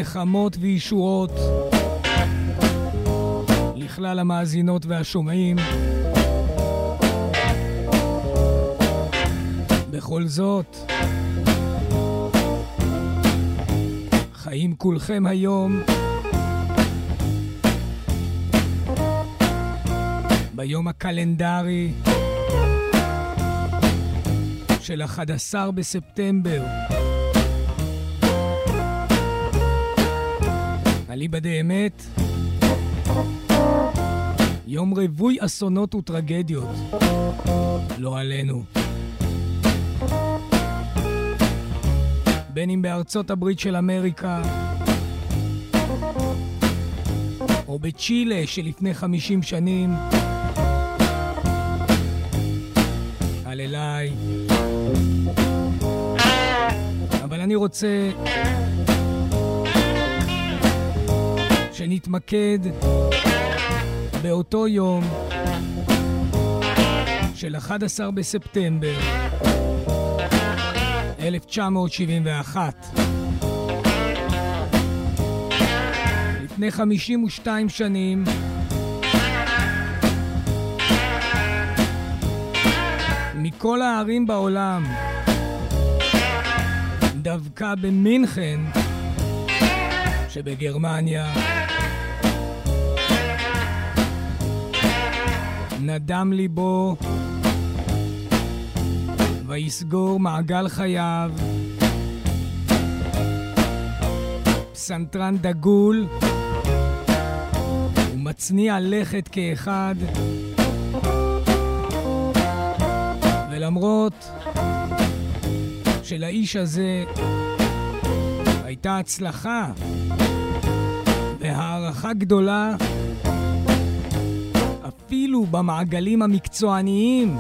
נחמות וישועות לכלל המאזינות והשומעים. בכל זאת, חיים כולכם היום ביום הקלנדרי של 11 בספטמבר. אליבא דאמת, יום רווי אסונות וטרגדיות, לא עלינו. בין אם בארצות הברית של אמריקה, או בצ'ילה שלפני 50 שנים, על אליי. אבל אני רוצה שנתמקד באותו יום של 11 בספטמבר 1971. לפני 52 שנים מכל הערים בעולם, דווקא במינכן שבגרמניה, נדם ליבו ויסגור מעגל חייו פסנתרן דגול ומצניע לכת כאחד. ולמרות שלאיש הזה הייתה הצלחה והערכה גדולה אפילו במעגלים המקצועניים,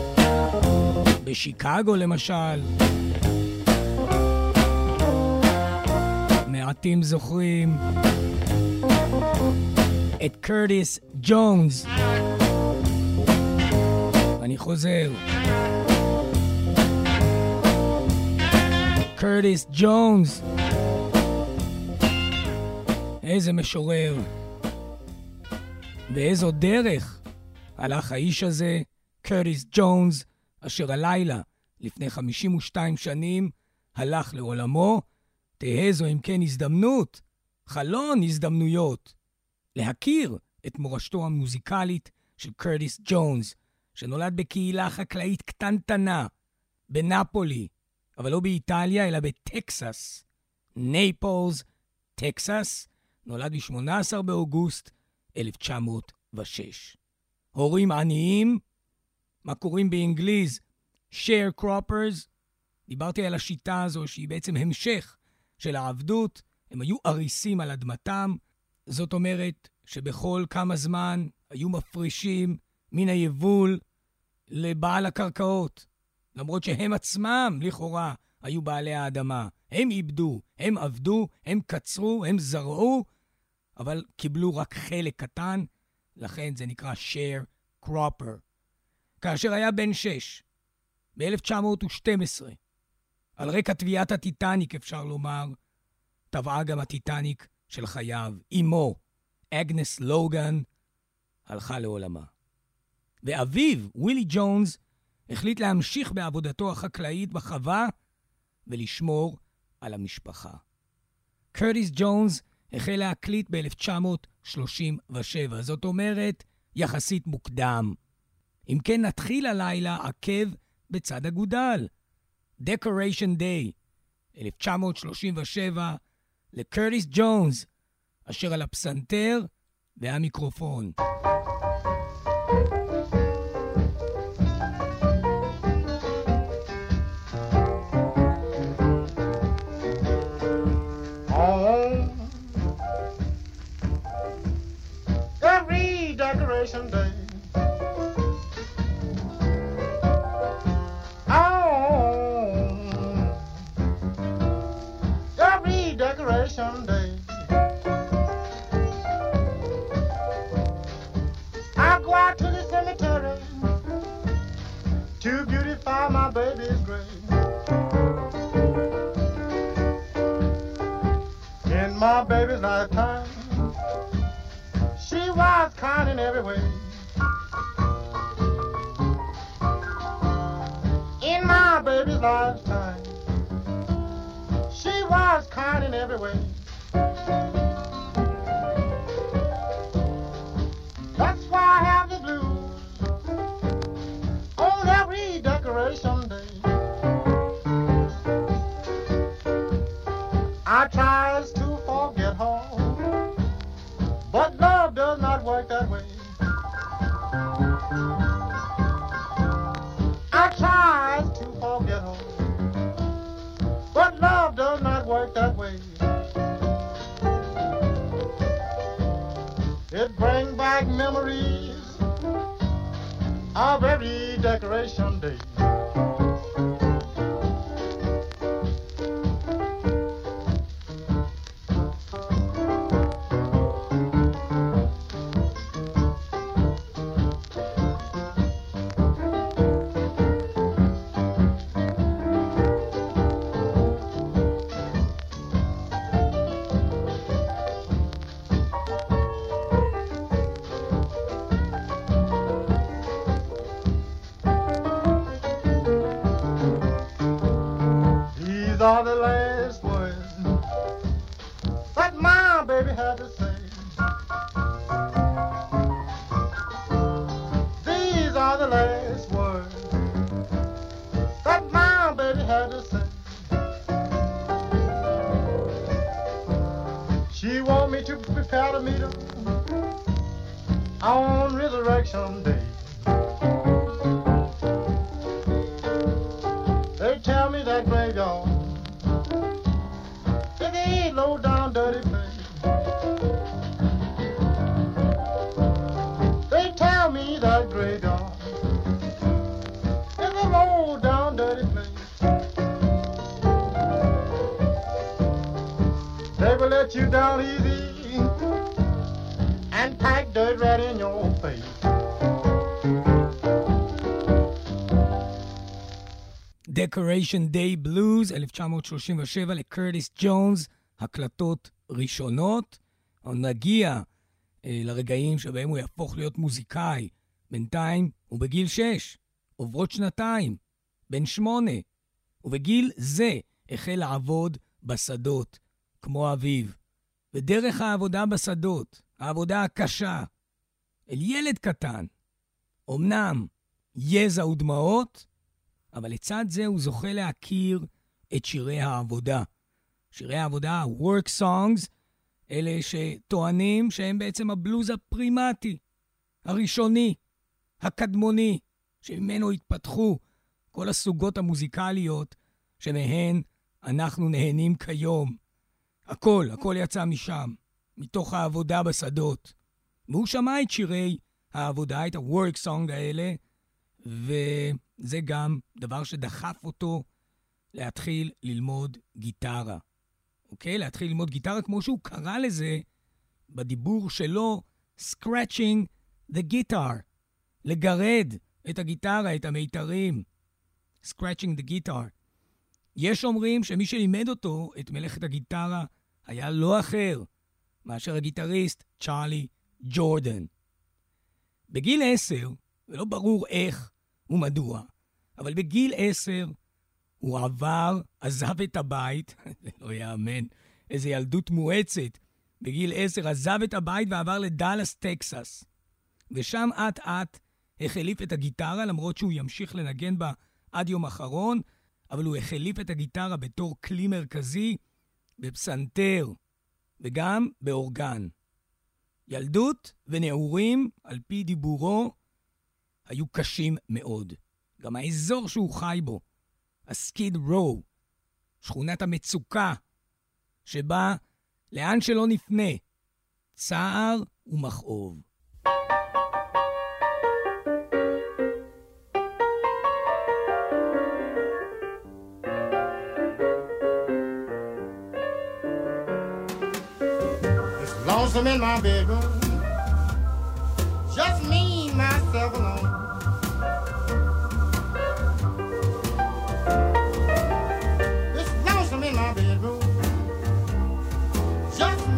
בשיקגו למשל, מעטים זוכרים את קרטיס ג'ונס. אני חוזר, קרטיס ג'ונס. איזה משורר ואיזו דרך הלך האיש הזה, קרטיס ג'ונס, אשר הלילה לפני 52 שנים הלך לעולמו. תהא זו אם כן הזדמנות, חלון הזדמנויות, להכיר את מורשתו המוזיקלית של קרטיס ג'ונס, שנולד בקהילה חקלאית קטנטנה בנפולי, אבל לא באיטליה אלא בטקסס, נייפלס, טקסס. נולד ב-18 באוגוסט 1906. הורים עניים, מה קוראים באנגליז sharecroppers. דיברתי על השיטה הזו שהיא בעצם המשך של העבדות. הם היו אריסים על אדמתם, זאת אומרת שבכל כמה זמן היו מפרישים מן היבול לבעל הקרקעות, למרות שהם עצמם לכאורה היו בעלי האדמה. הם איבדו, הם עבדו, הם קצרו, הם זרעו, אבל קיבלו רק חלק קטן, לכן זה נקרא sharecropper. כאשר היה בן 6, ב-1912, על רקע טביעת הטיטניק אפשר לומר, טבעה גם הטיטניק של חייו. אמו, אגנס לוגן, הלכה לעולמה. ואביו, ווילי ג'ונס, החליט להמשיך בעבודתו החקלאית בחווה ולשמור על המשפחה. קרטיס ג'ונס החל להקליט ב-1937, זאת אומרת יחסית מוקדם. אם כן, נתחיל הלילה עקב בצד אגודל. Decoration Day 1937 לקרטיס ג'ונס, אשר על הפסנתר והמיקרופון. Decoration Day. Every Decoration Day. I go out to the cemetery to beautify my baby's grave. In my my baby's lifetime, she was kind in every way. In my baby's lifetime, she was kind in every way. That's why I have the blues on every decoration day. I tries to forget her, but love does not work that way. I tries to forget her, but love does not work that way. It brings back memories of every decoration day. These are the last words that my baby had to say. These are the last words that my baby had to say. She want me to prepare to meet her on Resurrection Day. They tell me that graveyard is a low down dirty place. They tell me that graveyard is a low down dirty place. They will let you down easy and pack dirt right in your face. Decoration Day Blues, 1937 לקרטיס ג'ונס, הקלטות ראשונות. נגיע לרגעים שבהם הוא יהפוך להיות מוזיקאי. בינתיים הוא בגיל 6, עוברות שנתיים, בן 8, ובגיל זה החל לעבוד בשדות, כמו אביו. ודרך העבודה בשדות, העבודה הקשה, אל ילד קטן, אמנם יזע ודמעות, אבל לצד זה הוא זוכה להכיר את שירי העבודה. שירי העבודה, work songs, אלה שטוענים שהם בעצם הבלוז הפרימטי, הראשוני, הקדמוני, שממנו התפתחו כל הסוגות המוזיקליות שמהן אנחנו נהנים כיום. הכל יצא משם, מתוך העבודה בשדות. והוא שמע את שירי העבודה, את ה-work song האלה, וזה גם דבר שדחף אותו להתחיל ללמוד גיטרה. אוקיי? להתחיל ללמוד גיטרה כמו שהוא קרא לזה בדיבור שלו, scratching the guitar. לגרד את הגיטרה, את המיתרים. scratching the guitar. יש אומרים שמי שלימד אותו את מלאכת הגיטרה היה לא אחר מאשר הגיטריסט צ'ארלי ג'ורדן. בגיל 10, ולא ברור איך ומדוע, אבל בגיל 10 הוא עזב את הבית, זה לא יאמן, איזו ילדות מואצת. בגיל 10 עזב את הבית ועבר לדלס, טקסס. ושם עט החליף את הגיטרה, למרות שהוא ימשיך לנגן בה עד יום אחרון, אבל הוא החליף את הגיטרה בתור כלי מרכזי, בפסנתר, וגם באורגן. ילדות ונעורים, על פי דיבורו, היו קשים מאוד. גם האזור שהוא חי בו, הסקיד רו, שכונת המצוקה, שבה לאן שלא נפנה, צער ומכאוב. Lonesome in my bedroom, just me, myself alone. It's lonesome in my bedroom, just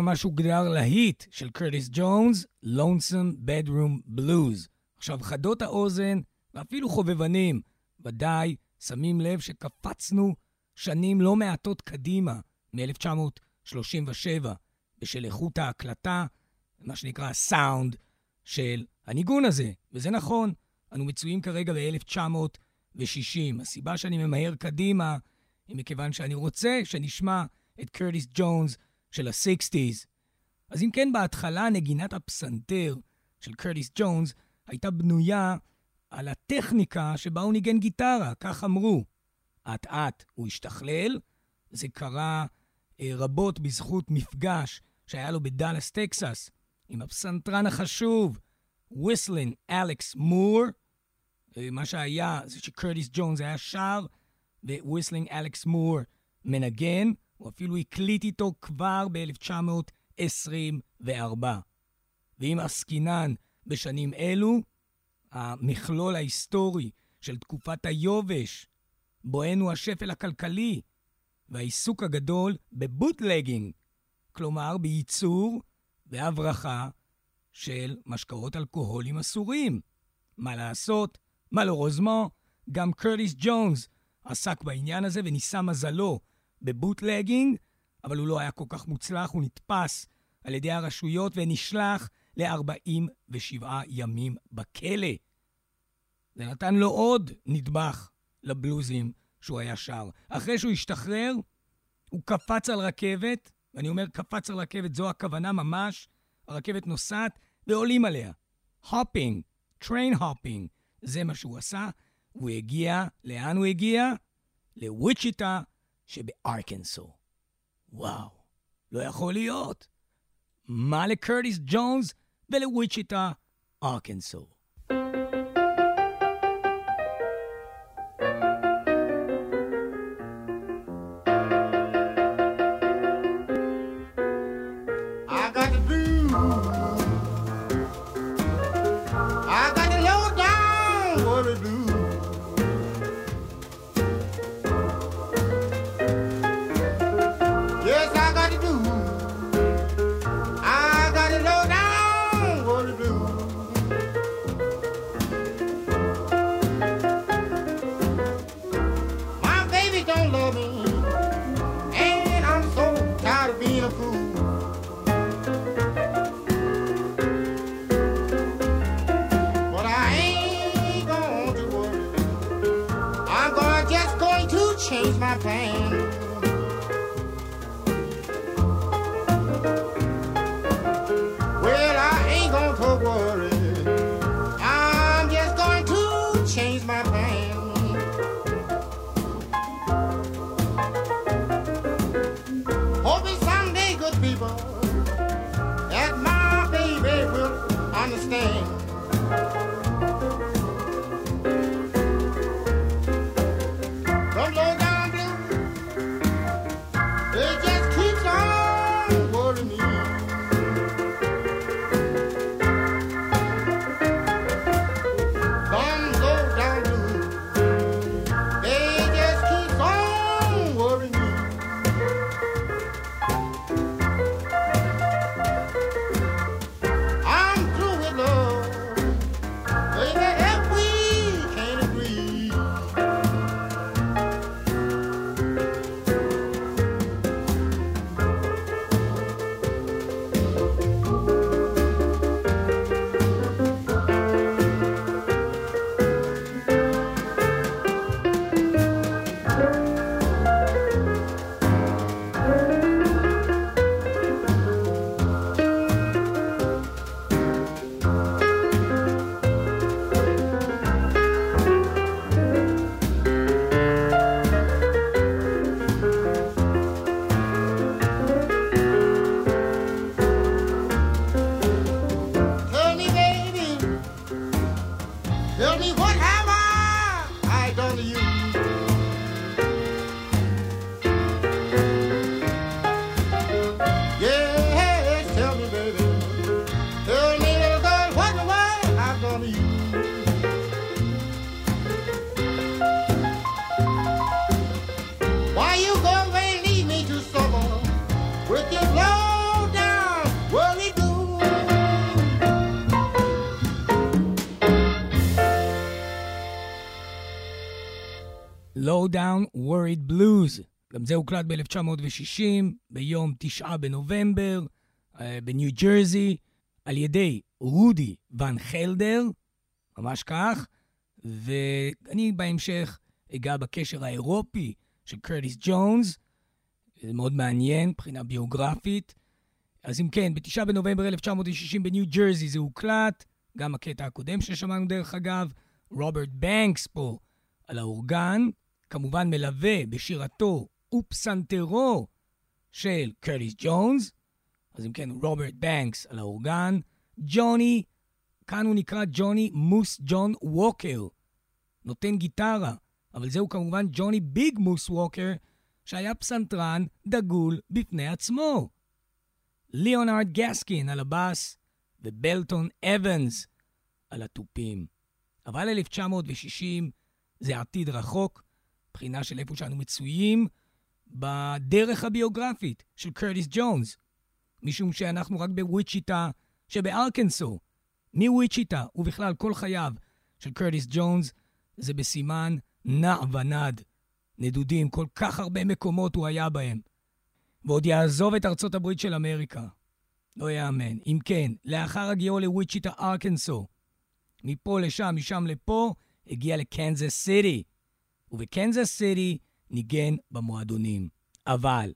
מה שהוגדר להיט של קרטיס ג'ונס, Lonesome Bedroom Blues. עכשיו, חדות האוזן, ואפילו חובבנים, ודאי שמים לב שקפצנו שנים לא מעטות קדימה, מ-1937, בשל איכות ההקלטה, מה שנקרא הסאונד של הניגון הזה. וזה נכון, אנו מצויים כרגע ב-1960. הסיבה שאני ממהר קדימה, היא מכיוון שאני רוצה שנשמע את קרטיס ג'ונס של ה-60s. אז אם כן, בהתחלה נגינת הפסנתר של קרטיס ג'ונס הייתה בנויה על הטכניקה שבה הוא ניגן גיטרה, כך אמרו. עט הוא השתכלל, זה קרה רבות בזכות מפגש שהיה לו בדלס, טקסס, עם הפסנתרן החשוב, וויסלין אלכס מור. מה שהיה זה שקרטיס ג'ונס היה שר, וויסלינג אלכס מור מנגן, הוא אפילו הקליט איתו כבר ב-1924. ואם עסקינן בשנים אלו, המכלול ההיסטורי של תקופת היובש, בואנו השפל הכלכלי, והעיסוק הגדול בבוטלגינג, כלומר בייצור והברחה של משקאות אלכוהולים אסורים. מה לעשות? מלורוזמו, גם קרטיס ג'ונס עסק בעניין הזה וניסה מזלו בבוטלגינג, אבל הוא לא היה כל כך מוצלח, הוא נתפס על ידי הרשויות ונשלח ל-47 ימים בכלא. זה נתן לו עוד נדבך לבלוזים שהוא היה שר. אחרי שהוא השתחרר, הוא קפץ על רכבת, ואני אומר קפץ על רכבת, זו הכוונה ממש, הרכבת נוסעת ועולים עליה. הופינג, טריין הופינג, זה מה שהוא עשה. הוא הגיע, לאן הוא הגיע? לוויצ'יטה שבארקנסו. וואו, לא יכול להיות. מה לקרטיס ג'ונס ולוויצ'יטה, ארקנסו? Why you go and leave me to suffer with your low down Low Down Worried Blues. גם זה הוקלט ב-1960, ביום 9 בנובמבר, בניו ג'רזי, על ידי רודי ון חלדר, ממש כך, ואני בהמשך אגע בקשר האירופי של קרטיס ג'ונס, זה מאוד מעניין, מבחינה ביוגרפית. אז אם כן, ב-9 בנובמבר 1960 בניו ג'רזי זה הוקלט, גם הקטע הקודם ששמענו דרך אגב, רוברט בנקס פה על האורגן, כמובן מלווה בשירתו ופסנתרו של קרטיס ג'ונס, אז אם כן, רוברט בנקס על האורגן, ג'וני, כאן הוא נקרא ג'וני מוס ג'ון ווקר, נותן גיטרה, אבל זהו כמובן ג'וני ביג מוס ווקר, שהיה פסנתרן דגול בפני עצמו. ליאונרד גסקין על הבאס, ובלטון אבנס על התופים. אבל 1960 זה עתיד רחוק, בחינה של איפה שאנו מצויים בדרך הביוגרפית של קרטיס ג'ונס, משום שאנחנו רק בוויצ'יטה שבארקנסו. מוויצ'יטה ובכלל כל חייו של קרטיס ג'ונס זה בסימן נע ונד. נדודים, כל כך הרבה מקומות הוא היה בהם. ועוד יעזוב את ארצות הברית של אמריקה. לא יאמן. אם כן, לאחר הגיעו לוויצ'יטה ארקנסו, מפה לשם, משם לפה, הגיע לקנזס סיטי. ובקנזס סיטי ניגן במועדונים. אבל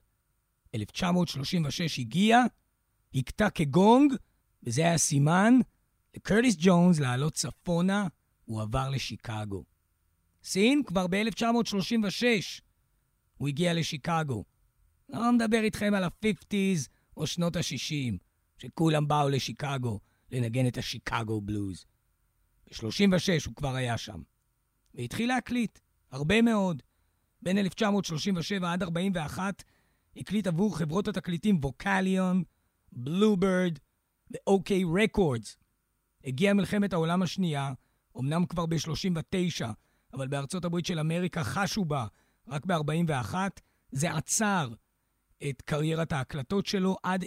1936 הגיע, הקטע כגונג, וזה היה סימן לקרטיס ג'ונס לעלות צפונה, הוא עבר לשיקגו. סין כבר ב-1936 הוא הגיע לשיקגו. לא מדבר איתכם על ה-50s או שנות ה-60, שכולם באו לשיקגו לנגן את השיקגו בלוז. ב-36 הוא כבר היה שם. והתחיל להקליט, הרבה מאוד. בין 1937 עד 41 הקליט עבור חברות התקליטים ווקליון, בלוברד ו-OK רקורדס. הגיעה מלחמת העולם השנייה, אמנם כבר ב-39, אבל בארצות הברית של אמריקה חשו בה רק ב-41, זה עצר את קריירת ההקלטות שלו עד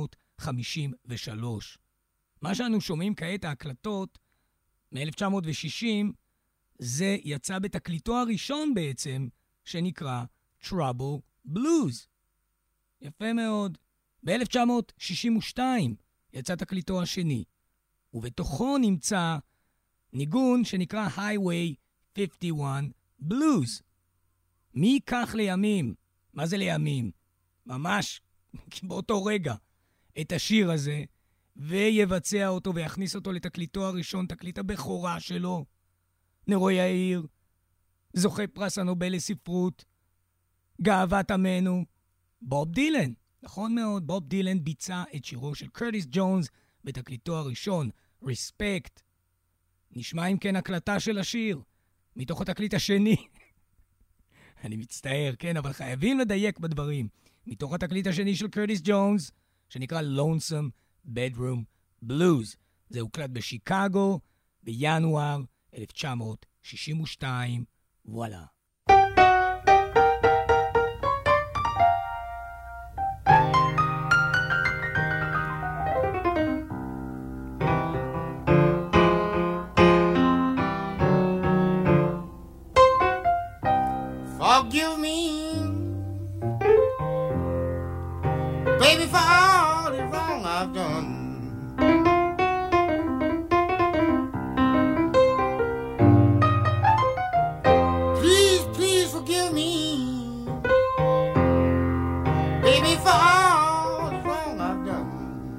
1953. מה שאנו שומעים כעת ההקלטות מ-1960, זה יצא בתקליטו הראשון בעצם, שנקרא Trouble Blues. יפה מאוד. ב-1962 יצא תקליטו השני, ובתוכו נמצא ניגון שנקרא Highway 51 Blues. מי ייקח לימים? מה זה לימים? ממש באותו רגע את השיר הזה, ויבצע אותו ויכניס אותו לתקליטו הראשון, תקליט הבכורה שלו. נרו יאיר, זוכה פרס הנובל לספרות, גאוות עמנו, בוב דילן. נכון מאוד, בוב דילן ביצע את שירו של קרטיס ג'ונס בתקליטו הראשון, Respect. נשמע אם כן הקלטה של השיר, מתוך התקליט השני. אני מצטער, כן, אבל חייבים לדייק בדברים. מתוך התקליט השני של קרטיס ג'ונס, שנקרא Lonesome Bedroom Blues. זה הוקלט בשיקגו, בינואר 1962. וואלה. Forgive me, baby, for all the wrong I've done. Please, please forgive me, baby, for all the wrong I've done.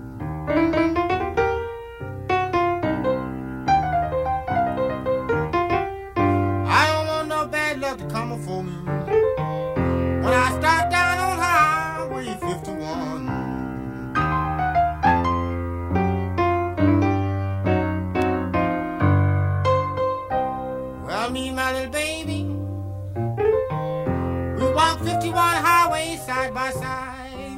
I don't want no bad luck to come before me when I start down on Highway 51. Well, me and my little baby, we walk 51 highways side by side.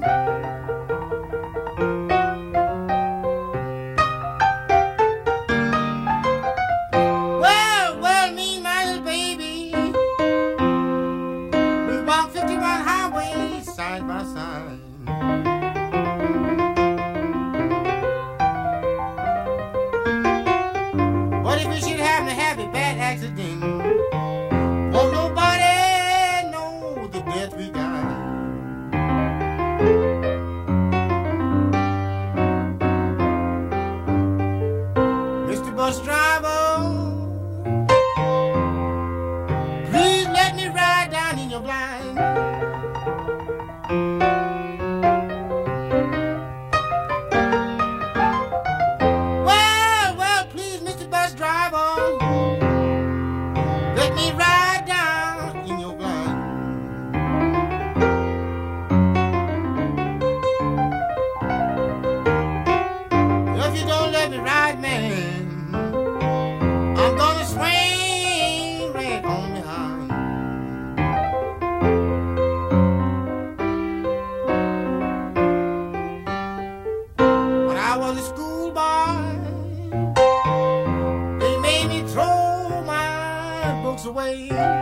Well, me and my little baby, we walk 51 highways side by side. What if we should happen to have a bad accident? Won't nobody Mr. Bus Driver, please let me ride down in your blind. Well, please, Mr. Bus Driver, let me ride down in your blind. If you don't let me ride, man, I'm gonna swing right on behind. When I was a schoolboy, they made me throw my books away.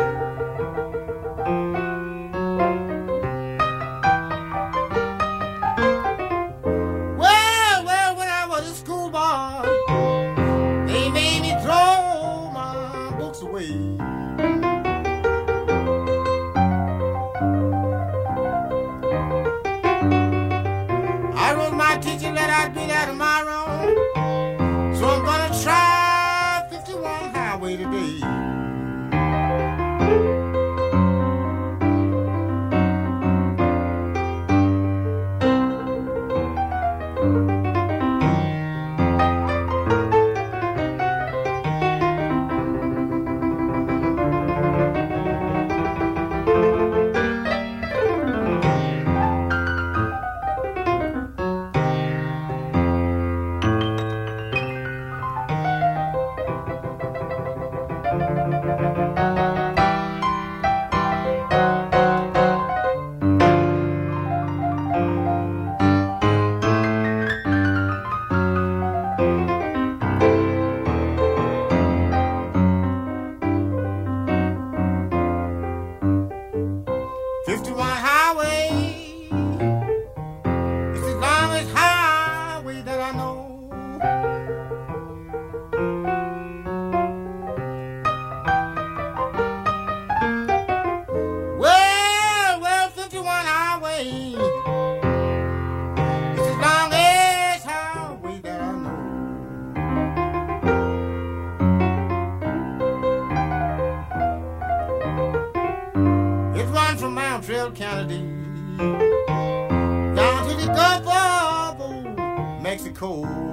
Well, when I was a schoolboy, they made me throw my books away. I wrote my teacher that I'd be there tomorrow, so I'm gonna try 51 highway today. Kennedy down to the Gulf of Mexico.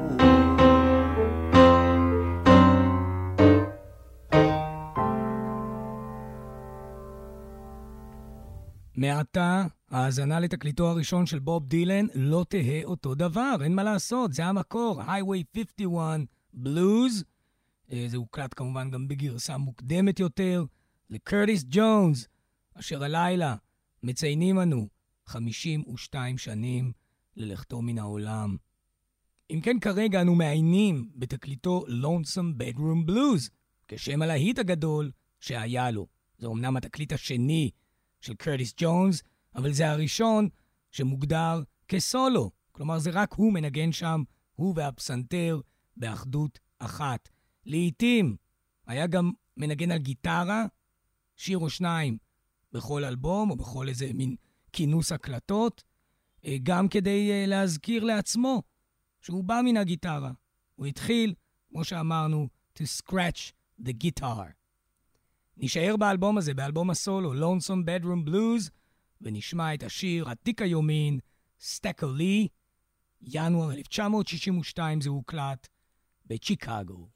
מעתה, האזנה לתקליטו הראשון של בוב דילן לא תהה אותו דבר, אין מה לעשות, זה המקור, Highway 51 Blues. זה הוקלט כמובן גם בגרסה מוקדמת יותר, לקרטיס ג'ונס, אשר הלילה מציינים אנו 52 שנים ללכתו מן העולם. אם כן, כרגע אנו מעיינים בתקליטו Lonesome Bedroom Blues, כשם הלהיט הגדול שהיה לו. זה אומנם התקליט השני של קרטיס ג'ונס, אבל זה הראשון שמוגדר כסולו. כלומר, זה רק הוא מנגן שם, הוא והפסנתר, באחדות אחת. לעתים היה גם מנגן על גיטרה, שיר או שניים בכל אלבום, או בכל איזה מין כינוס הקלטות, גם כדי להזכיר לעצמו שהוא בא מן הגיטרה. הוא התחיל, כמו שאמרנו, to scratch the guitar. נשאר באלבום הזה, באלבום הסולו, Lonesome Bedroom Blues, ונשמע את השיר עתיק היומין, Stacker Lee, ינואר 1962 זה הוקלט בצ'יקגו.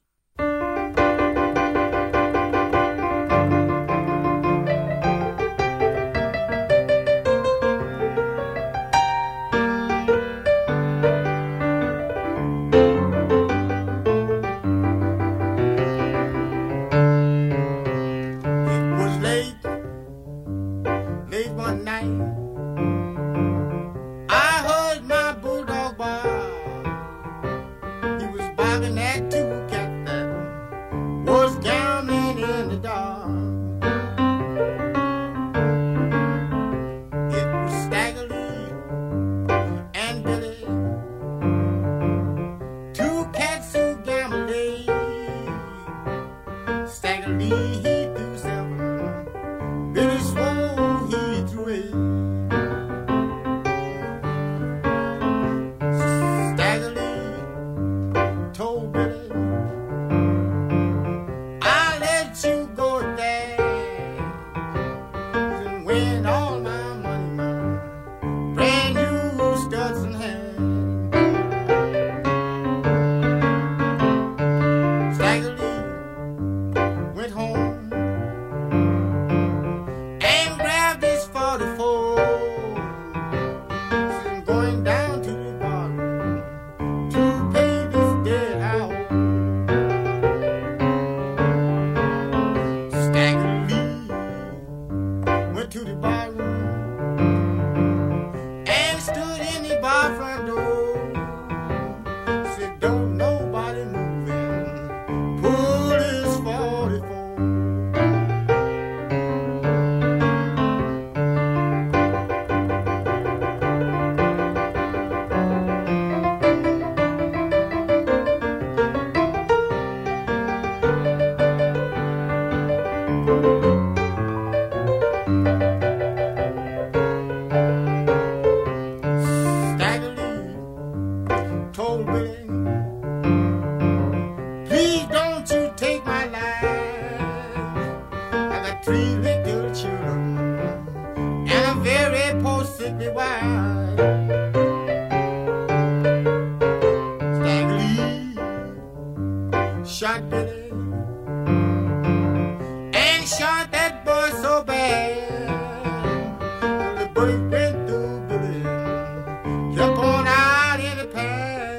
Stagger Lee went home and grabbed his 44. I'm going down to the bar to pay this debt I owe. Stagger Lee went to the bar and stood in the bar front door. Said, don't nobody move in. Pull his 44. Stagger Lee told Billy, please don't you take my life. I got 3 little children and a very poor sickly wife. Stagger Lee shot Billy and shot that boy so bad. The bullet went through Billy, kept on out in the past.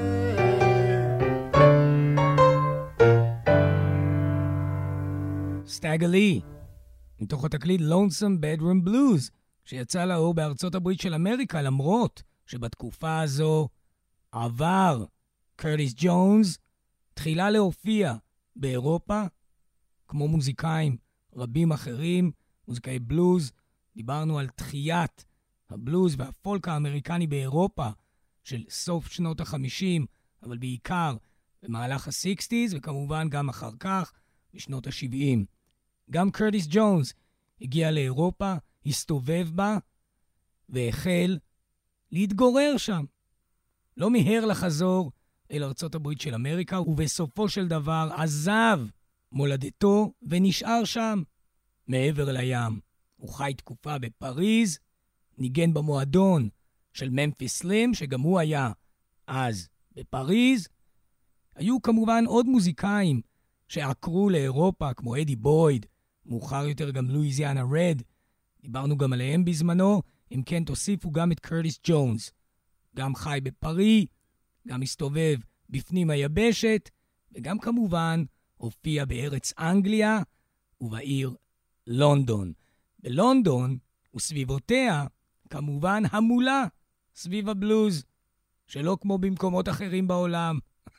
סטאגר לי, מתוך התקליט Lonesome Bedroom Blues, שיצא לאור בארצות הברית של אמריקה, למרות שבתקופה הזו עבר קרטיס ג'ונס תחילה להופיע באירופה, כמו מוזיקאים רבים אחרים, מוזיקאי בלוז. דיברנו על תחיית הבלוז והפולק האמריקני באירופה של סוף שנות ה-50, אבל בעיקר במהלך ה-60s, וכמובן גם אחר כך בשנות ה-70. גם קרטיס ג'ונס הגיע לאירופה, הסתובב בה, והחל להתגורר שם. לא מיהר לחזור אל ארצות הברית של אמריקה, ובסופו של דבר עזב מולדתו ונשאר שם, מעבר לים. הוא חי תקופה בפריז, ניגן במועדון של ממפיס סלים, שגם הוא היה אז בפריז. היו כמובן עוד מוזיקאים שעקרו לאירופה, כמו אדי בויד, מאוחר יותר גם לואיזיאנה רד. דיברנו גם עליהם בזמנו. אם כן, תוסיפו גם את קרטיס ג'ונס. גם חי בפרי, גם מסתובב בפנים היבשת, וגם כמובן הופיע בארץ אנגליה ובעיר לונדון. בלונדון וסביבותיה כמובן המולה סביב הבלוז, שלא כמו במקומות אחרים בעולם.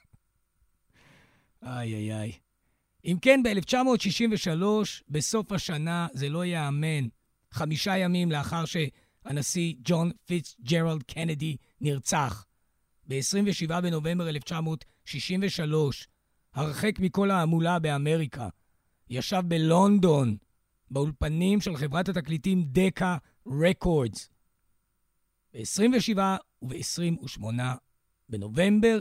איי איי איי. אם כן, ב-1963, בסוף השנה, זה לא יאמן, 5 ימים לאחר שהנשיא ג'ון פיטסג'רלד קנדי נרצח, ב-27 בנובמבר 1963, הרחק מכל ההמולה באמריקה, ישב בלונדון, באולפנים של חברת התקליטים דקה רקורדס, ב-27 וב-28 בנובמבר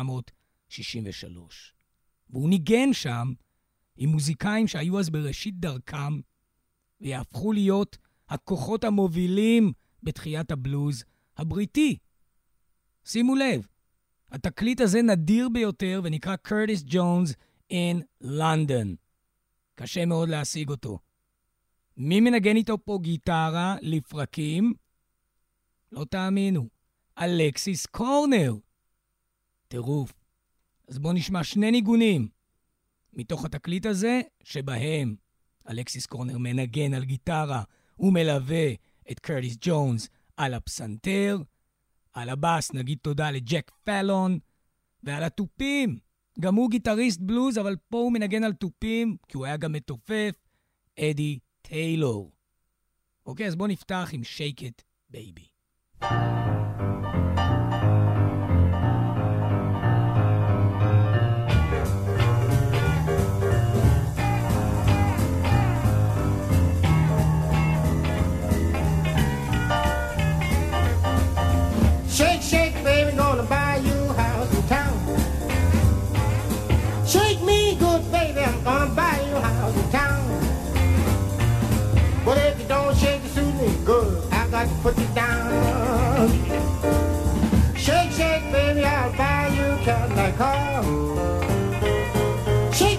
1963. והוא ניגן שם עם מוזיקאים שהיו אז בראשית דרכם, ויהפכו להיות הכוחות המובילים בתחיית הבלוז הבריטי. שימו לב, התקליט הזה נדיר ביותר ונקרא קרטיס ג'ונס in London. קשה מאוד להשיג אותו. מי מנגן איתו פה גיטרה לפרקים? לא תאמינו, אלקסיס קורנר. טירוף. אז בואו נשמע 2 ניגונים מתוך התקליט הזה, שבהם אלקסיס קורנר מנגן על גיטרה ומלווה את קרטיס ג'ונס על הפסנתר. על הבאס נגיד תודה לג'ק פלון, ועל הטופים, גם הוא גיטריסט בלוז, אבל פה הוא מנגן על טופים, כי הוא היה גם מתופף, אדי טיילור. אוקיי, אז בואו נפתח עם Shake It Baby. Shake, shake, baby, gonna buy you a house in town. Shake me good, baby, I'm gonna buy you a house in town. But if you don't shake it suit me good, I got to put you down. Shake, shake, baby, I'll buy you a Cadillac car. Shake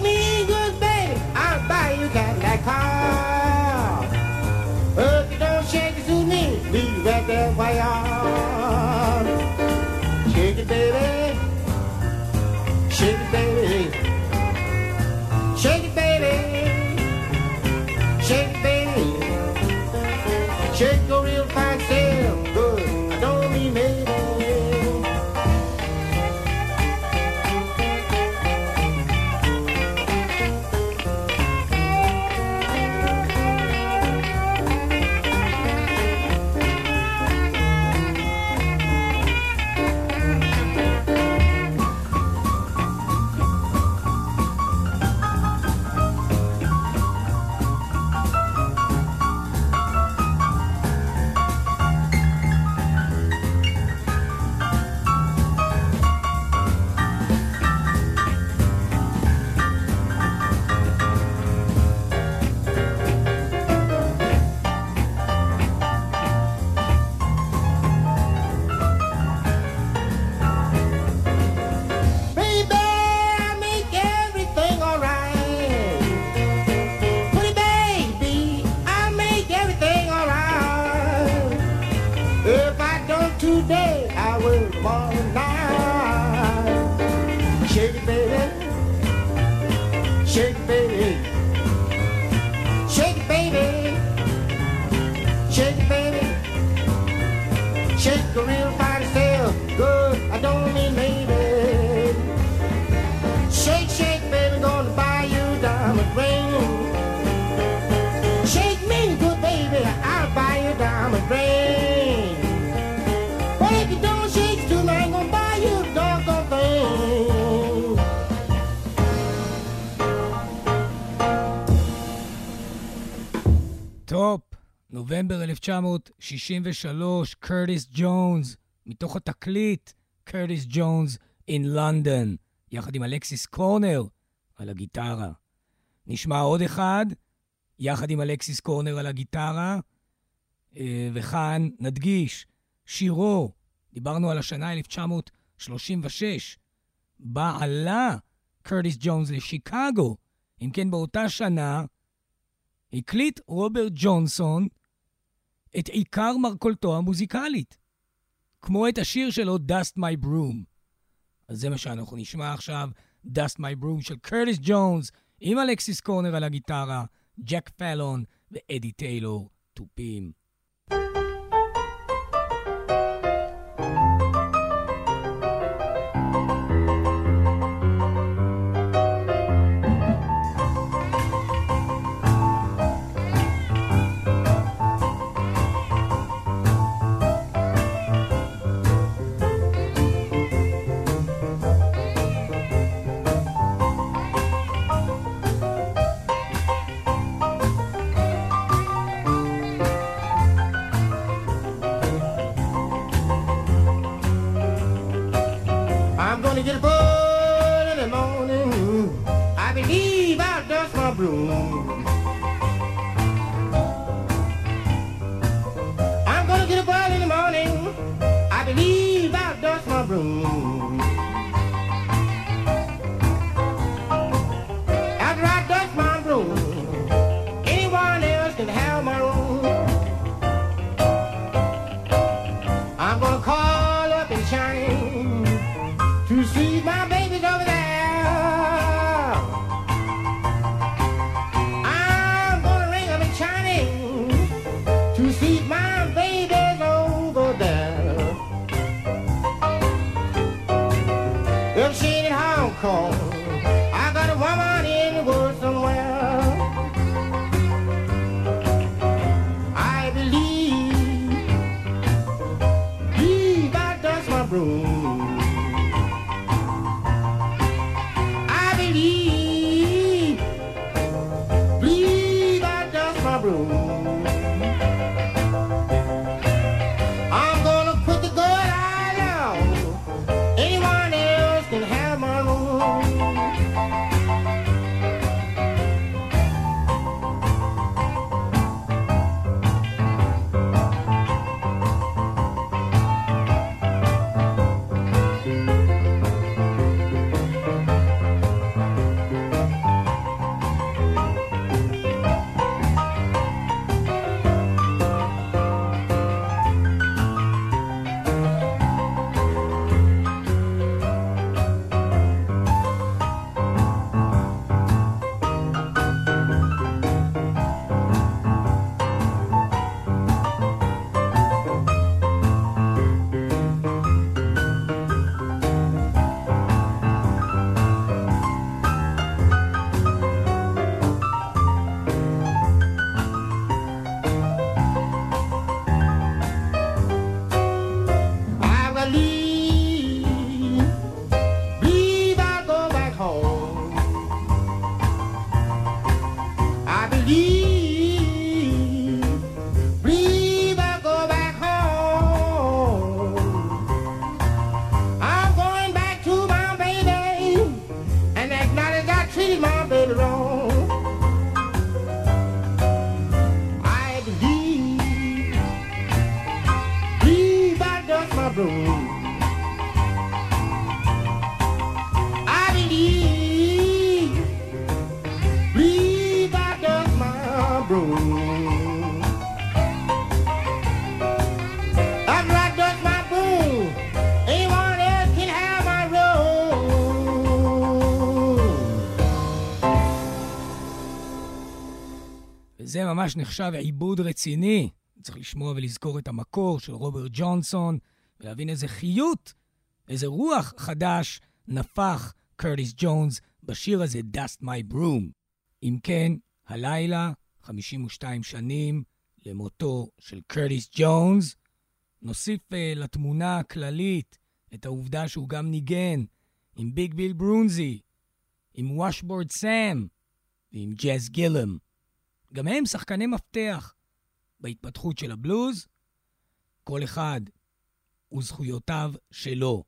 Shake it, baby. Shake it, baby. Shake your real fine self. Good. I don't mean maybe. טופ, נובמבר 1963, קרטיס ג'ונס, מתוך התקליט, קרטיס ג'ונס in London, יחד עם אלכסיס קורנר על הגיטרה. נשמע עוד אחד, יחד עם אלכסיס קורנר על הגיטרה, וכאן נדגיש, שירו, דיברנו על השנה 1936, בה עלה קרטיס ג'ונס לשיקגו, אם כן באותה שנה, הקליט רוברט ג'ונסון את עיקר מרכולתו המוזיקלית, כמו את השיר שלו Dust My Broom. אז זה מה שאנחנו נשמע עכשיו, Dust My Broom של קרטיס ג'ונס, עם אלכסיס קורנר על הגיטרה, ג'ק פלון ואדי טיילור תופים. Get a bird in the morning. I believe I'll dust my broom. I'm gonna get a bird in the morning. I believe I'll dust my broom. After I dust my broom, anyone else can have my room. I'm gonna call up and shine to see my babies over there. I'm gonna ring up and shining to see my babies over there. If she ain't in Hong Kong, I got a woman in the woods somewhere. I believe I dust my broom. Believe I dust my broom. broom. After I dust my broom, anyone else can have my room. וזה ממש נחשב עיבוד רציני. צריך לשמוע ולזכור את המקור של רוברט ג'ונסון, ולהבין איזה חיות, איזה רוח חדש נפח קרטיס ג'ונס בשיר הזה, Dust My Broom. אם כן, הלילה, 52 שנים למותו של קרטיס ג'ונס, נוסיף לתמונה הכללית את העובדה שהוא גם ניגן עם ביג ביל ברונזי, עם וושבורד סאם ועם ג'אז גילם. גם הם שחקני מפתח בהתפתחות של הבלוז, כל אחד וזכויותיו שלו.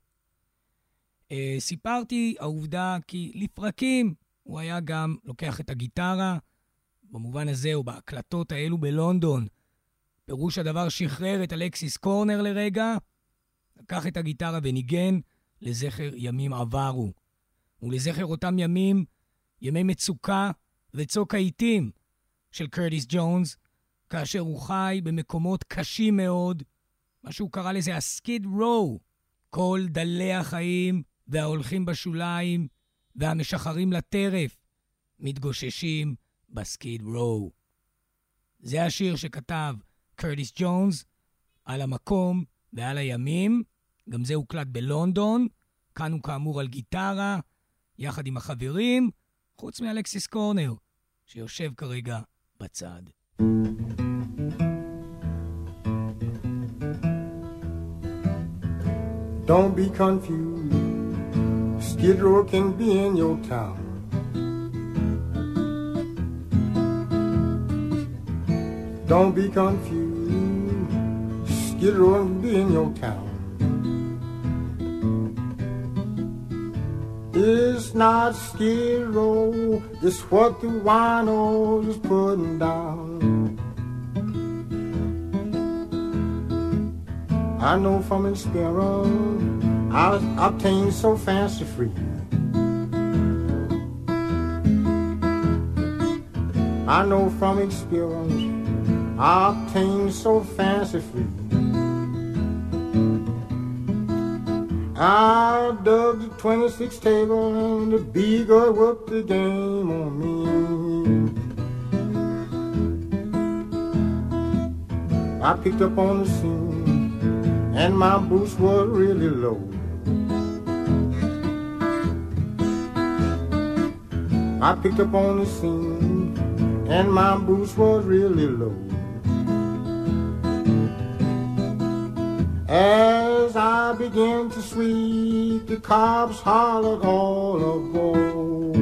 סיפרתי העובדה כי לפרקים הוא היה גם לוקח את הגיטרה, במובן הזה או בהקלטות האלו בלונדון. פירוש הדבר שחרר את אלכסיס קורנר לרגע, לקח את הגיטרה וניגן לזכר ימים עברו. ולזכר אותם ימים, ימי מצוקה וצוק העיתים של קרטיס ג'ונס, כאשר הוא חי במקומות קשים מאוד, מה שהוא קרא לזה הסקיד רו, כל דלי החיים וההולכים בשוליים והמשחרים לטרף מתגוששים בסקיד רו. זה השיר שכתב קרטיס ג'ונס על המקום ועל הימים, גם זה הוקלט בלונדון, כאן הוא כאמור על גיטרה, יחד עם החברים, חוץ מאלכסיס קורנר, שיושב כרגע בצד. Don't be confused, Skid Row can be in your town. Don't be confused, Skid Row can be in your town. It's not Skid Row, it's what the winos is putting down. I know from experience I obtained so fancy free. I know from experience I obtained so fancy free. I dug the 26 table and the beagle whooped the game on me. I picked up on the scene and my boots were really low. I picked up on the scene and my boots were really low. As I began to sweep, the cops hollered all aboard.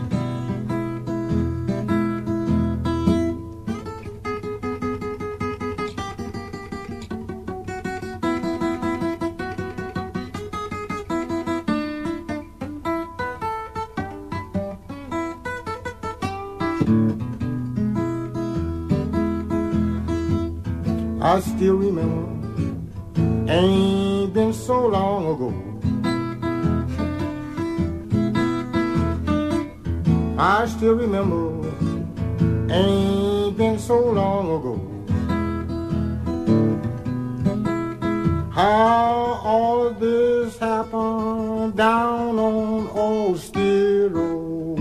I still remember, ain't been so long ago. I still remember, ain't been so long ago. How all of this happened down on old Skid Row.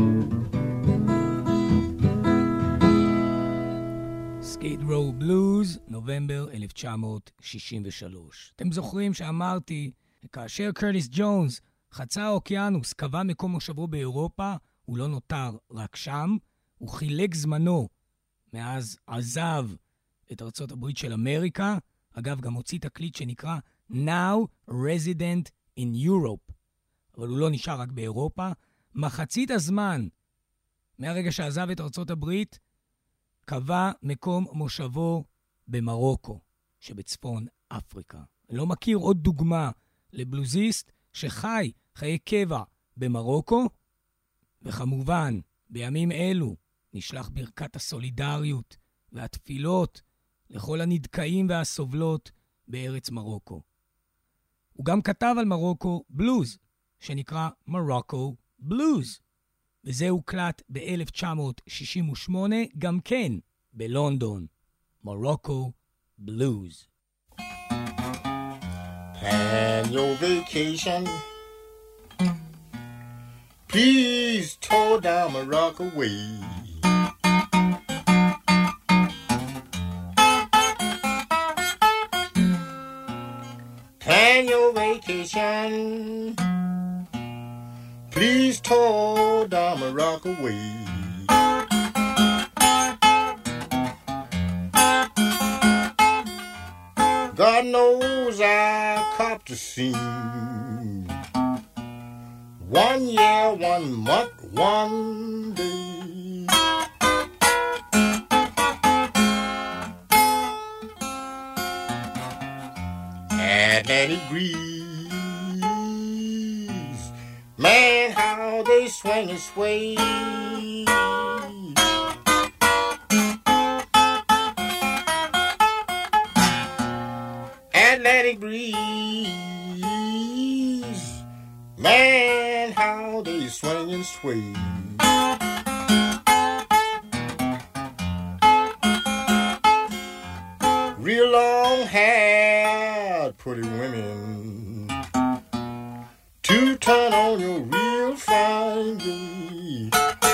Skid Row Blues, נובמבר 1963. אתם זוכרים שאמרתי, כאשר קרטיס ג'ונס חצה האוקיינוס, קבע מקום מושבו באירופה, הוא לא נותר רק שם, הוא חילק זמנו מאז עזב את ארצות הברית של אמריקה, אגב גם הוציא תקליט שנקרא Now Resident in Europe, אבל הוא לא נשאר רק באירופה. מחצית הזמן מהרגע שעזב את ארצות הברית, קבע מקום מושבו במרוקו, שבצפון אפריקה. אני לא מכיר עוד דוגמה לבלוזיסט שחי חיי קבע במרוקו, וכמובן, בימים אלו נשלח ברכת הסולידריות והתפילות לכל הנדכאים והסובלות בארץ מרוקו. הוא גם כתב על מרוקו בלוז, שנקרא מרוקו בלוז, וזה הוקלט ב-1968, גם כן בלונדון, Morocco Blues. Plan your vacation. Please tour down Morocco way. Plan your vacation. Please tour down Morocco way. God knows I copped a scene. 1 year, 1 month, 1 day. Atlantic breeze, man, how they swing and sway. Atlantic breeze, man, how they swing and sway. Real long-haired pretty women to turn on your real fine day.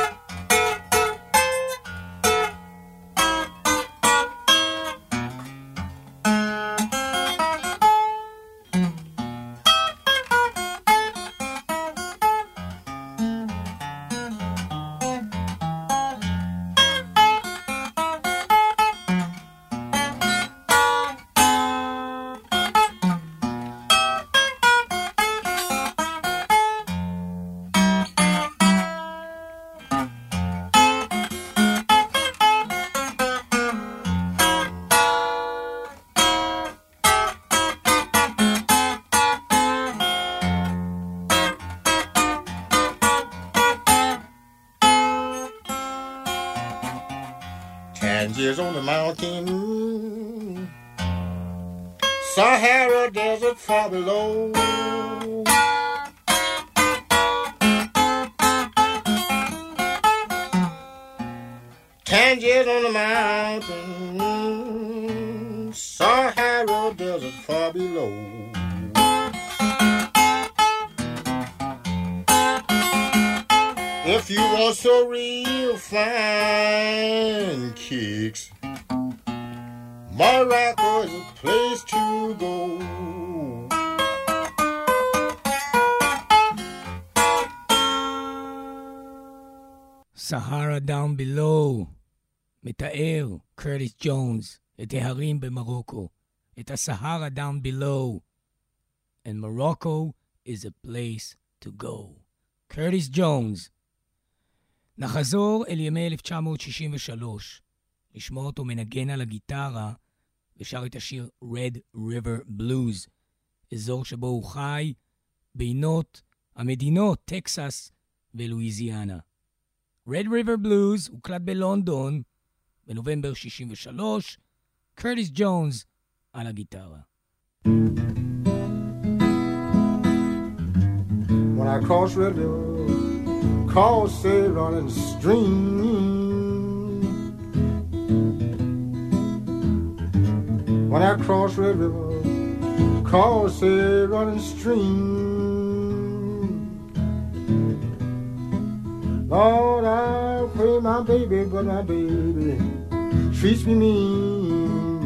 Tangiers on the mountain, Sahara Desert far below. Tangiers on the mountain, Sahara Desert far below. If you want so real fine kicks, Morocco is a place to go. Sahara Down Below, מתאר קרטיס ג'ונס את ההרים במרוקו, את הסהרה Down Below, and Morocco is a place to go. קרטיס ג'ונס. נחזור אל ימי 1963, לשמוע אותו מנגן על הגיטרה, ושר את השיר Red River Blues, אזור שבו הוא חי, בינות המדינות טקסס ולואיזיאנה. Red River Blues הוקלט בלונדון בנובמבר 63, קרטיס ג'ונס על הגיטרה. When I cross Red River, cross a running stream. When I cross Red River, cross a running stream. Lord, I pray my baby, but my baby treats me mean.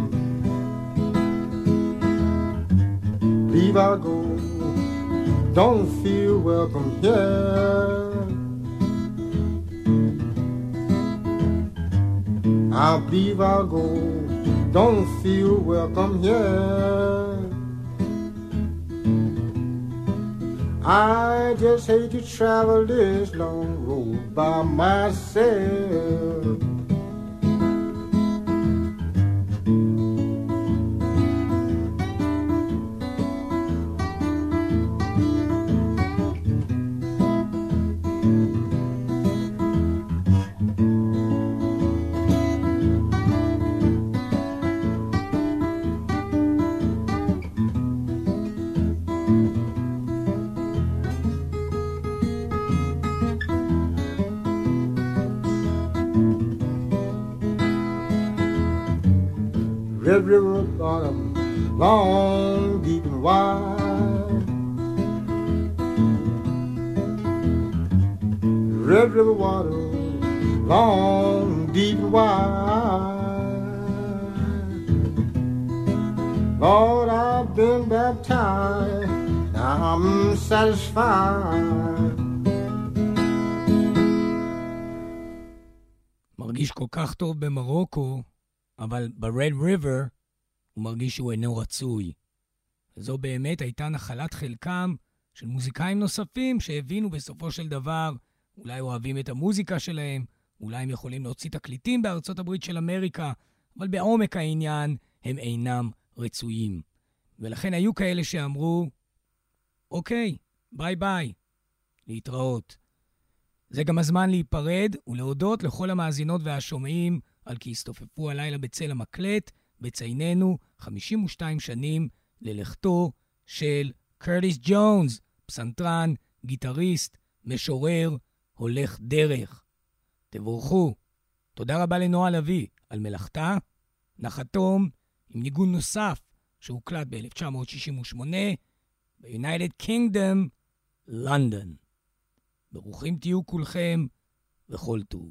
Leave I go, don't feel welcome here. I'll leave, I'll go, don't feel welcome here. I just hate to travel this long road by myself. Red River bottom, long, deep and wide. Red River water, long, deep and wide. Lord, I've been baptized, now I'm satisfied. מרגיש כל כך טוב במרוקו, אבל ב-Red River הוא מרגיש שהוא אינו רצוי. וזו באמת הייתה נחלת חלקם של מוזיקאים נוספים שהבינו בסופו של דבר, אולי אוהבים את המוזיקה שלהם, אולי הם יכולים להוציא תקליטים בארצות הברית של אמריקה, אבל בעומק העניין הם אינם רצויים. ולכן היו כאלה שאמרו, אוקיי, ביי ביי, להתראות. זה גם הזמן להיפרד ולהודות לכל המאזינות והשומעים על כי הסתופפו הלילה בצל המקלט, בצייננו 52 שנים ללכתו של קרטיס ג'ונס, פסנתרן, גיטריסט, משורר, הולך דרך. תבורכו. תודה רבה לנועה לוי על מלאכתה. נחתום עם ניגון נוסף שהוקלט ב-1968 ב-United Kingdom, לונדון. ברוכים תהיו כולכם וכל טוב.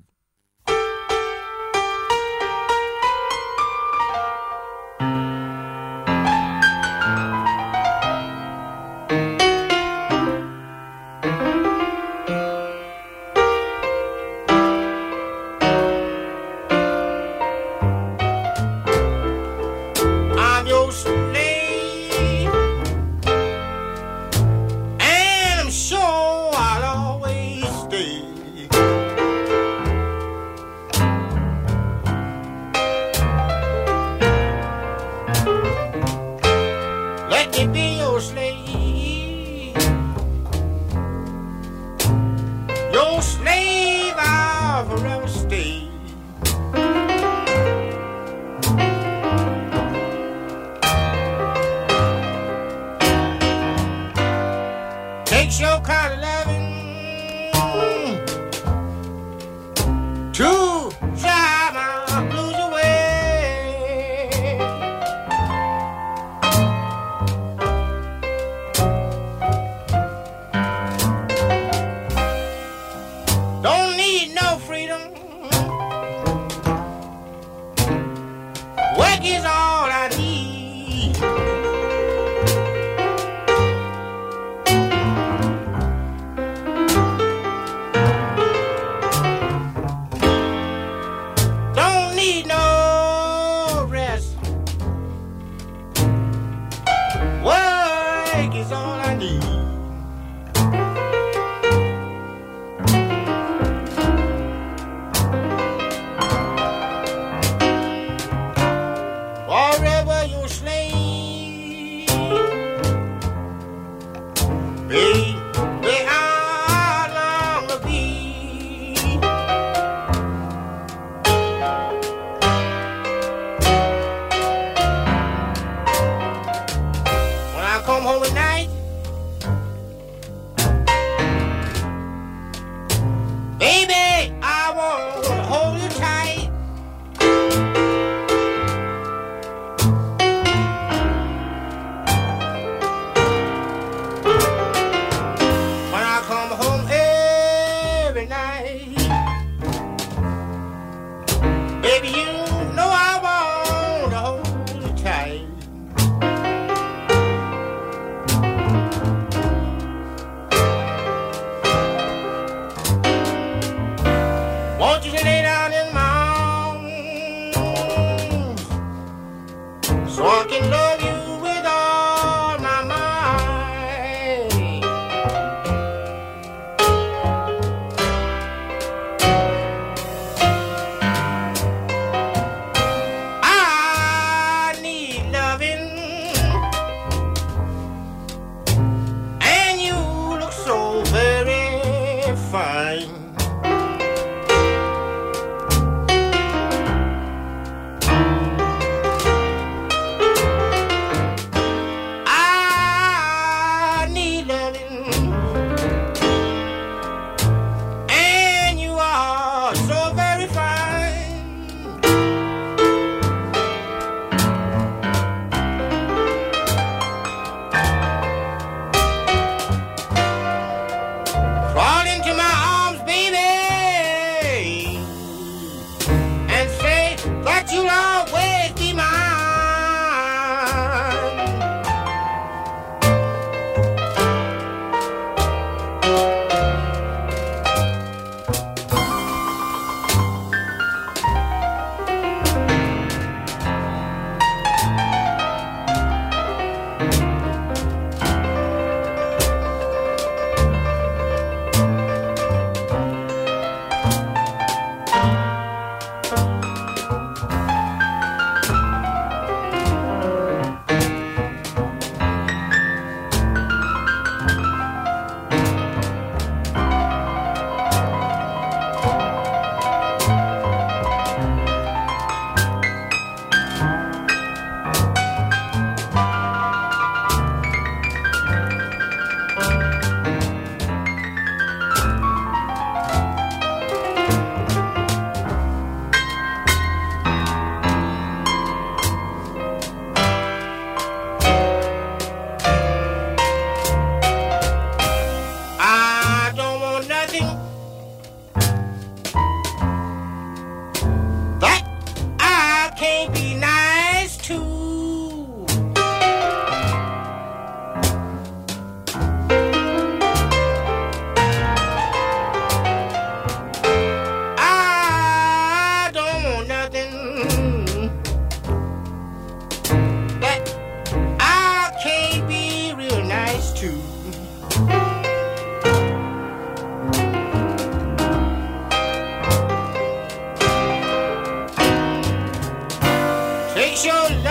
you'll always be mine. Take your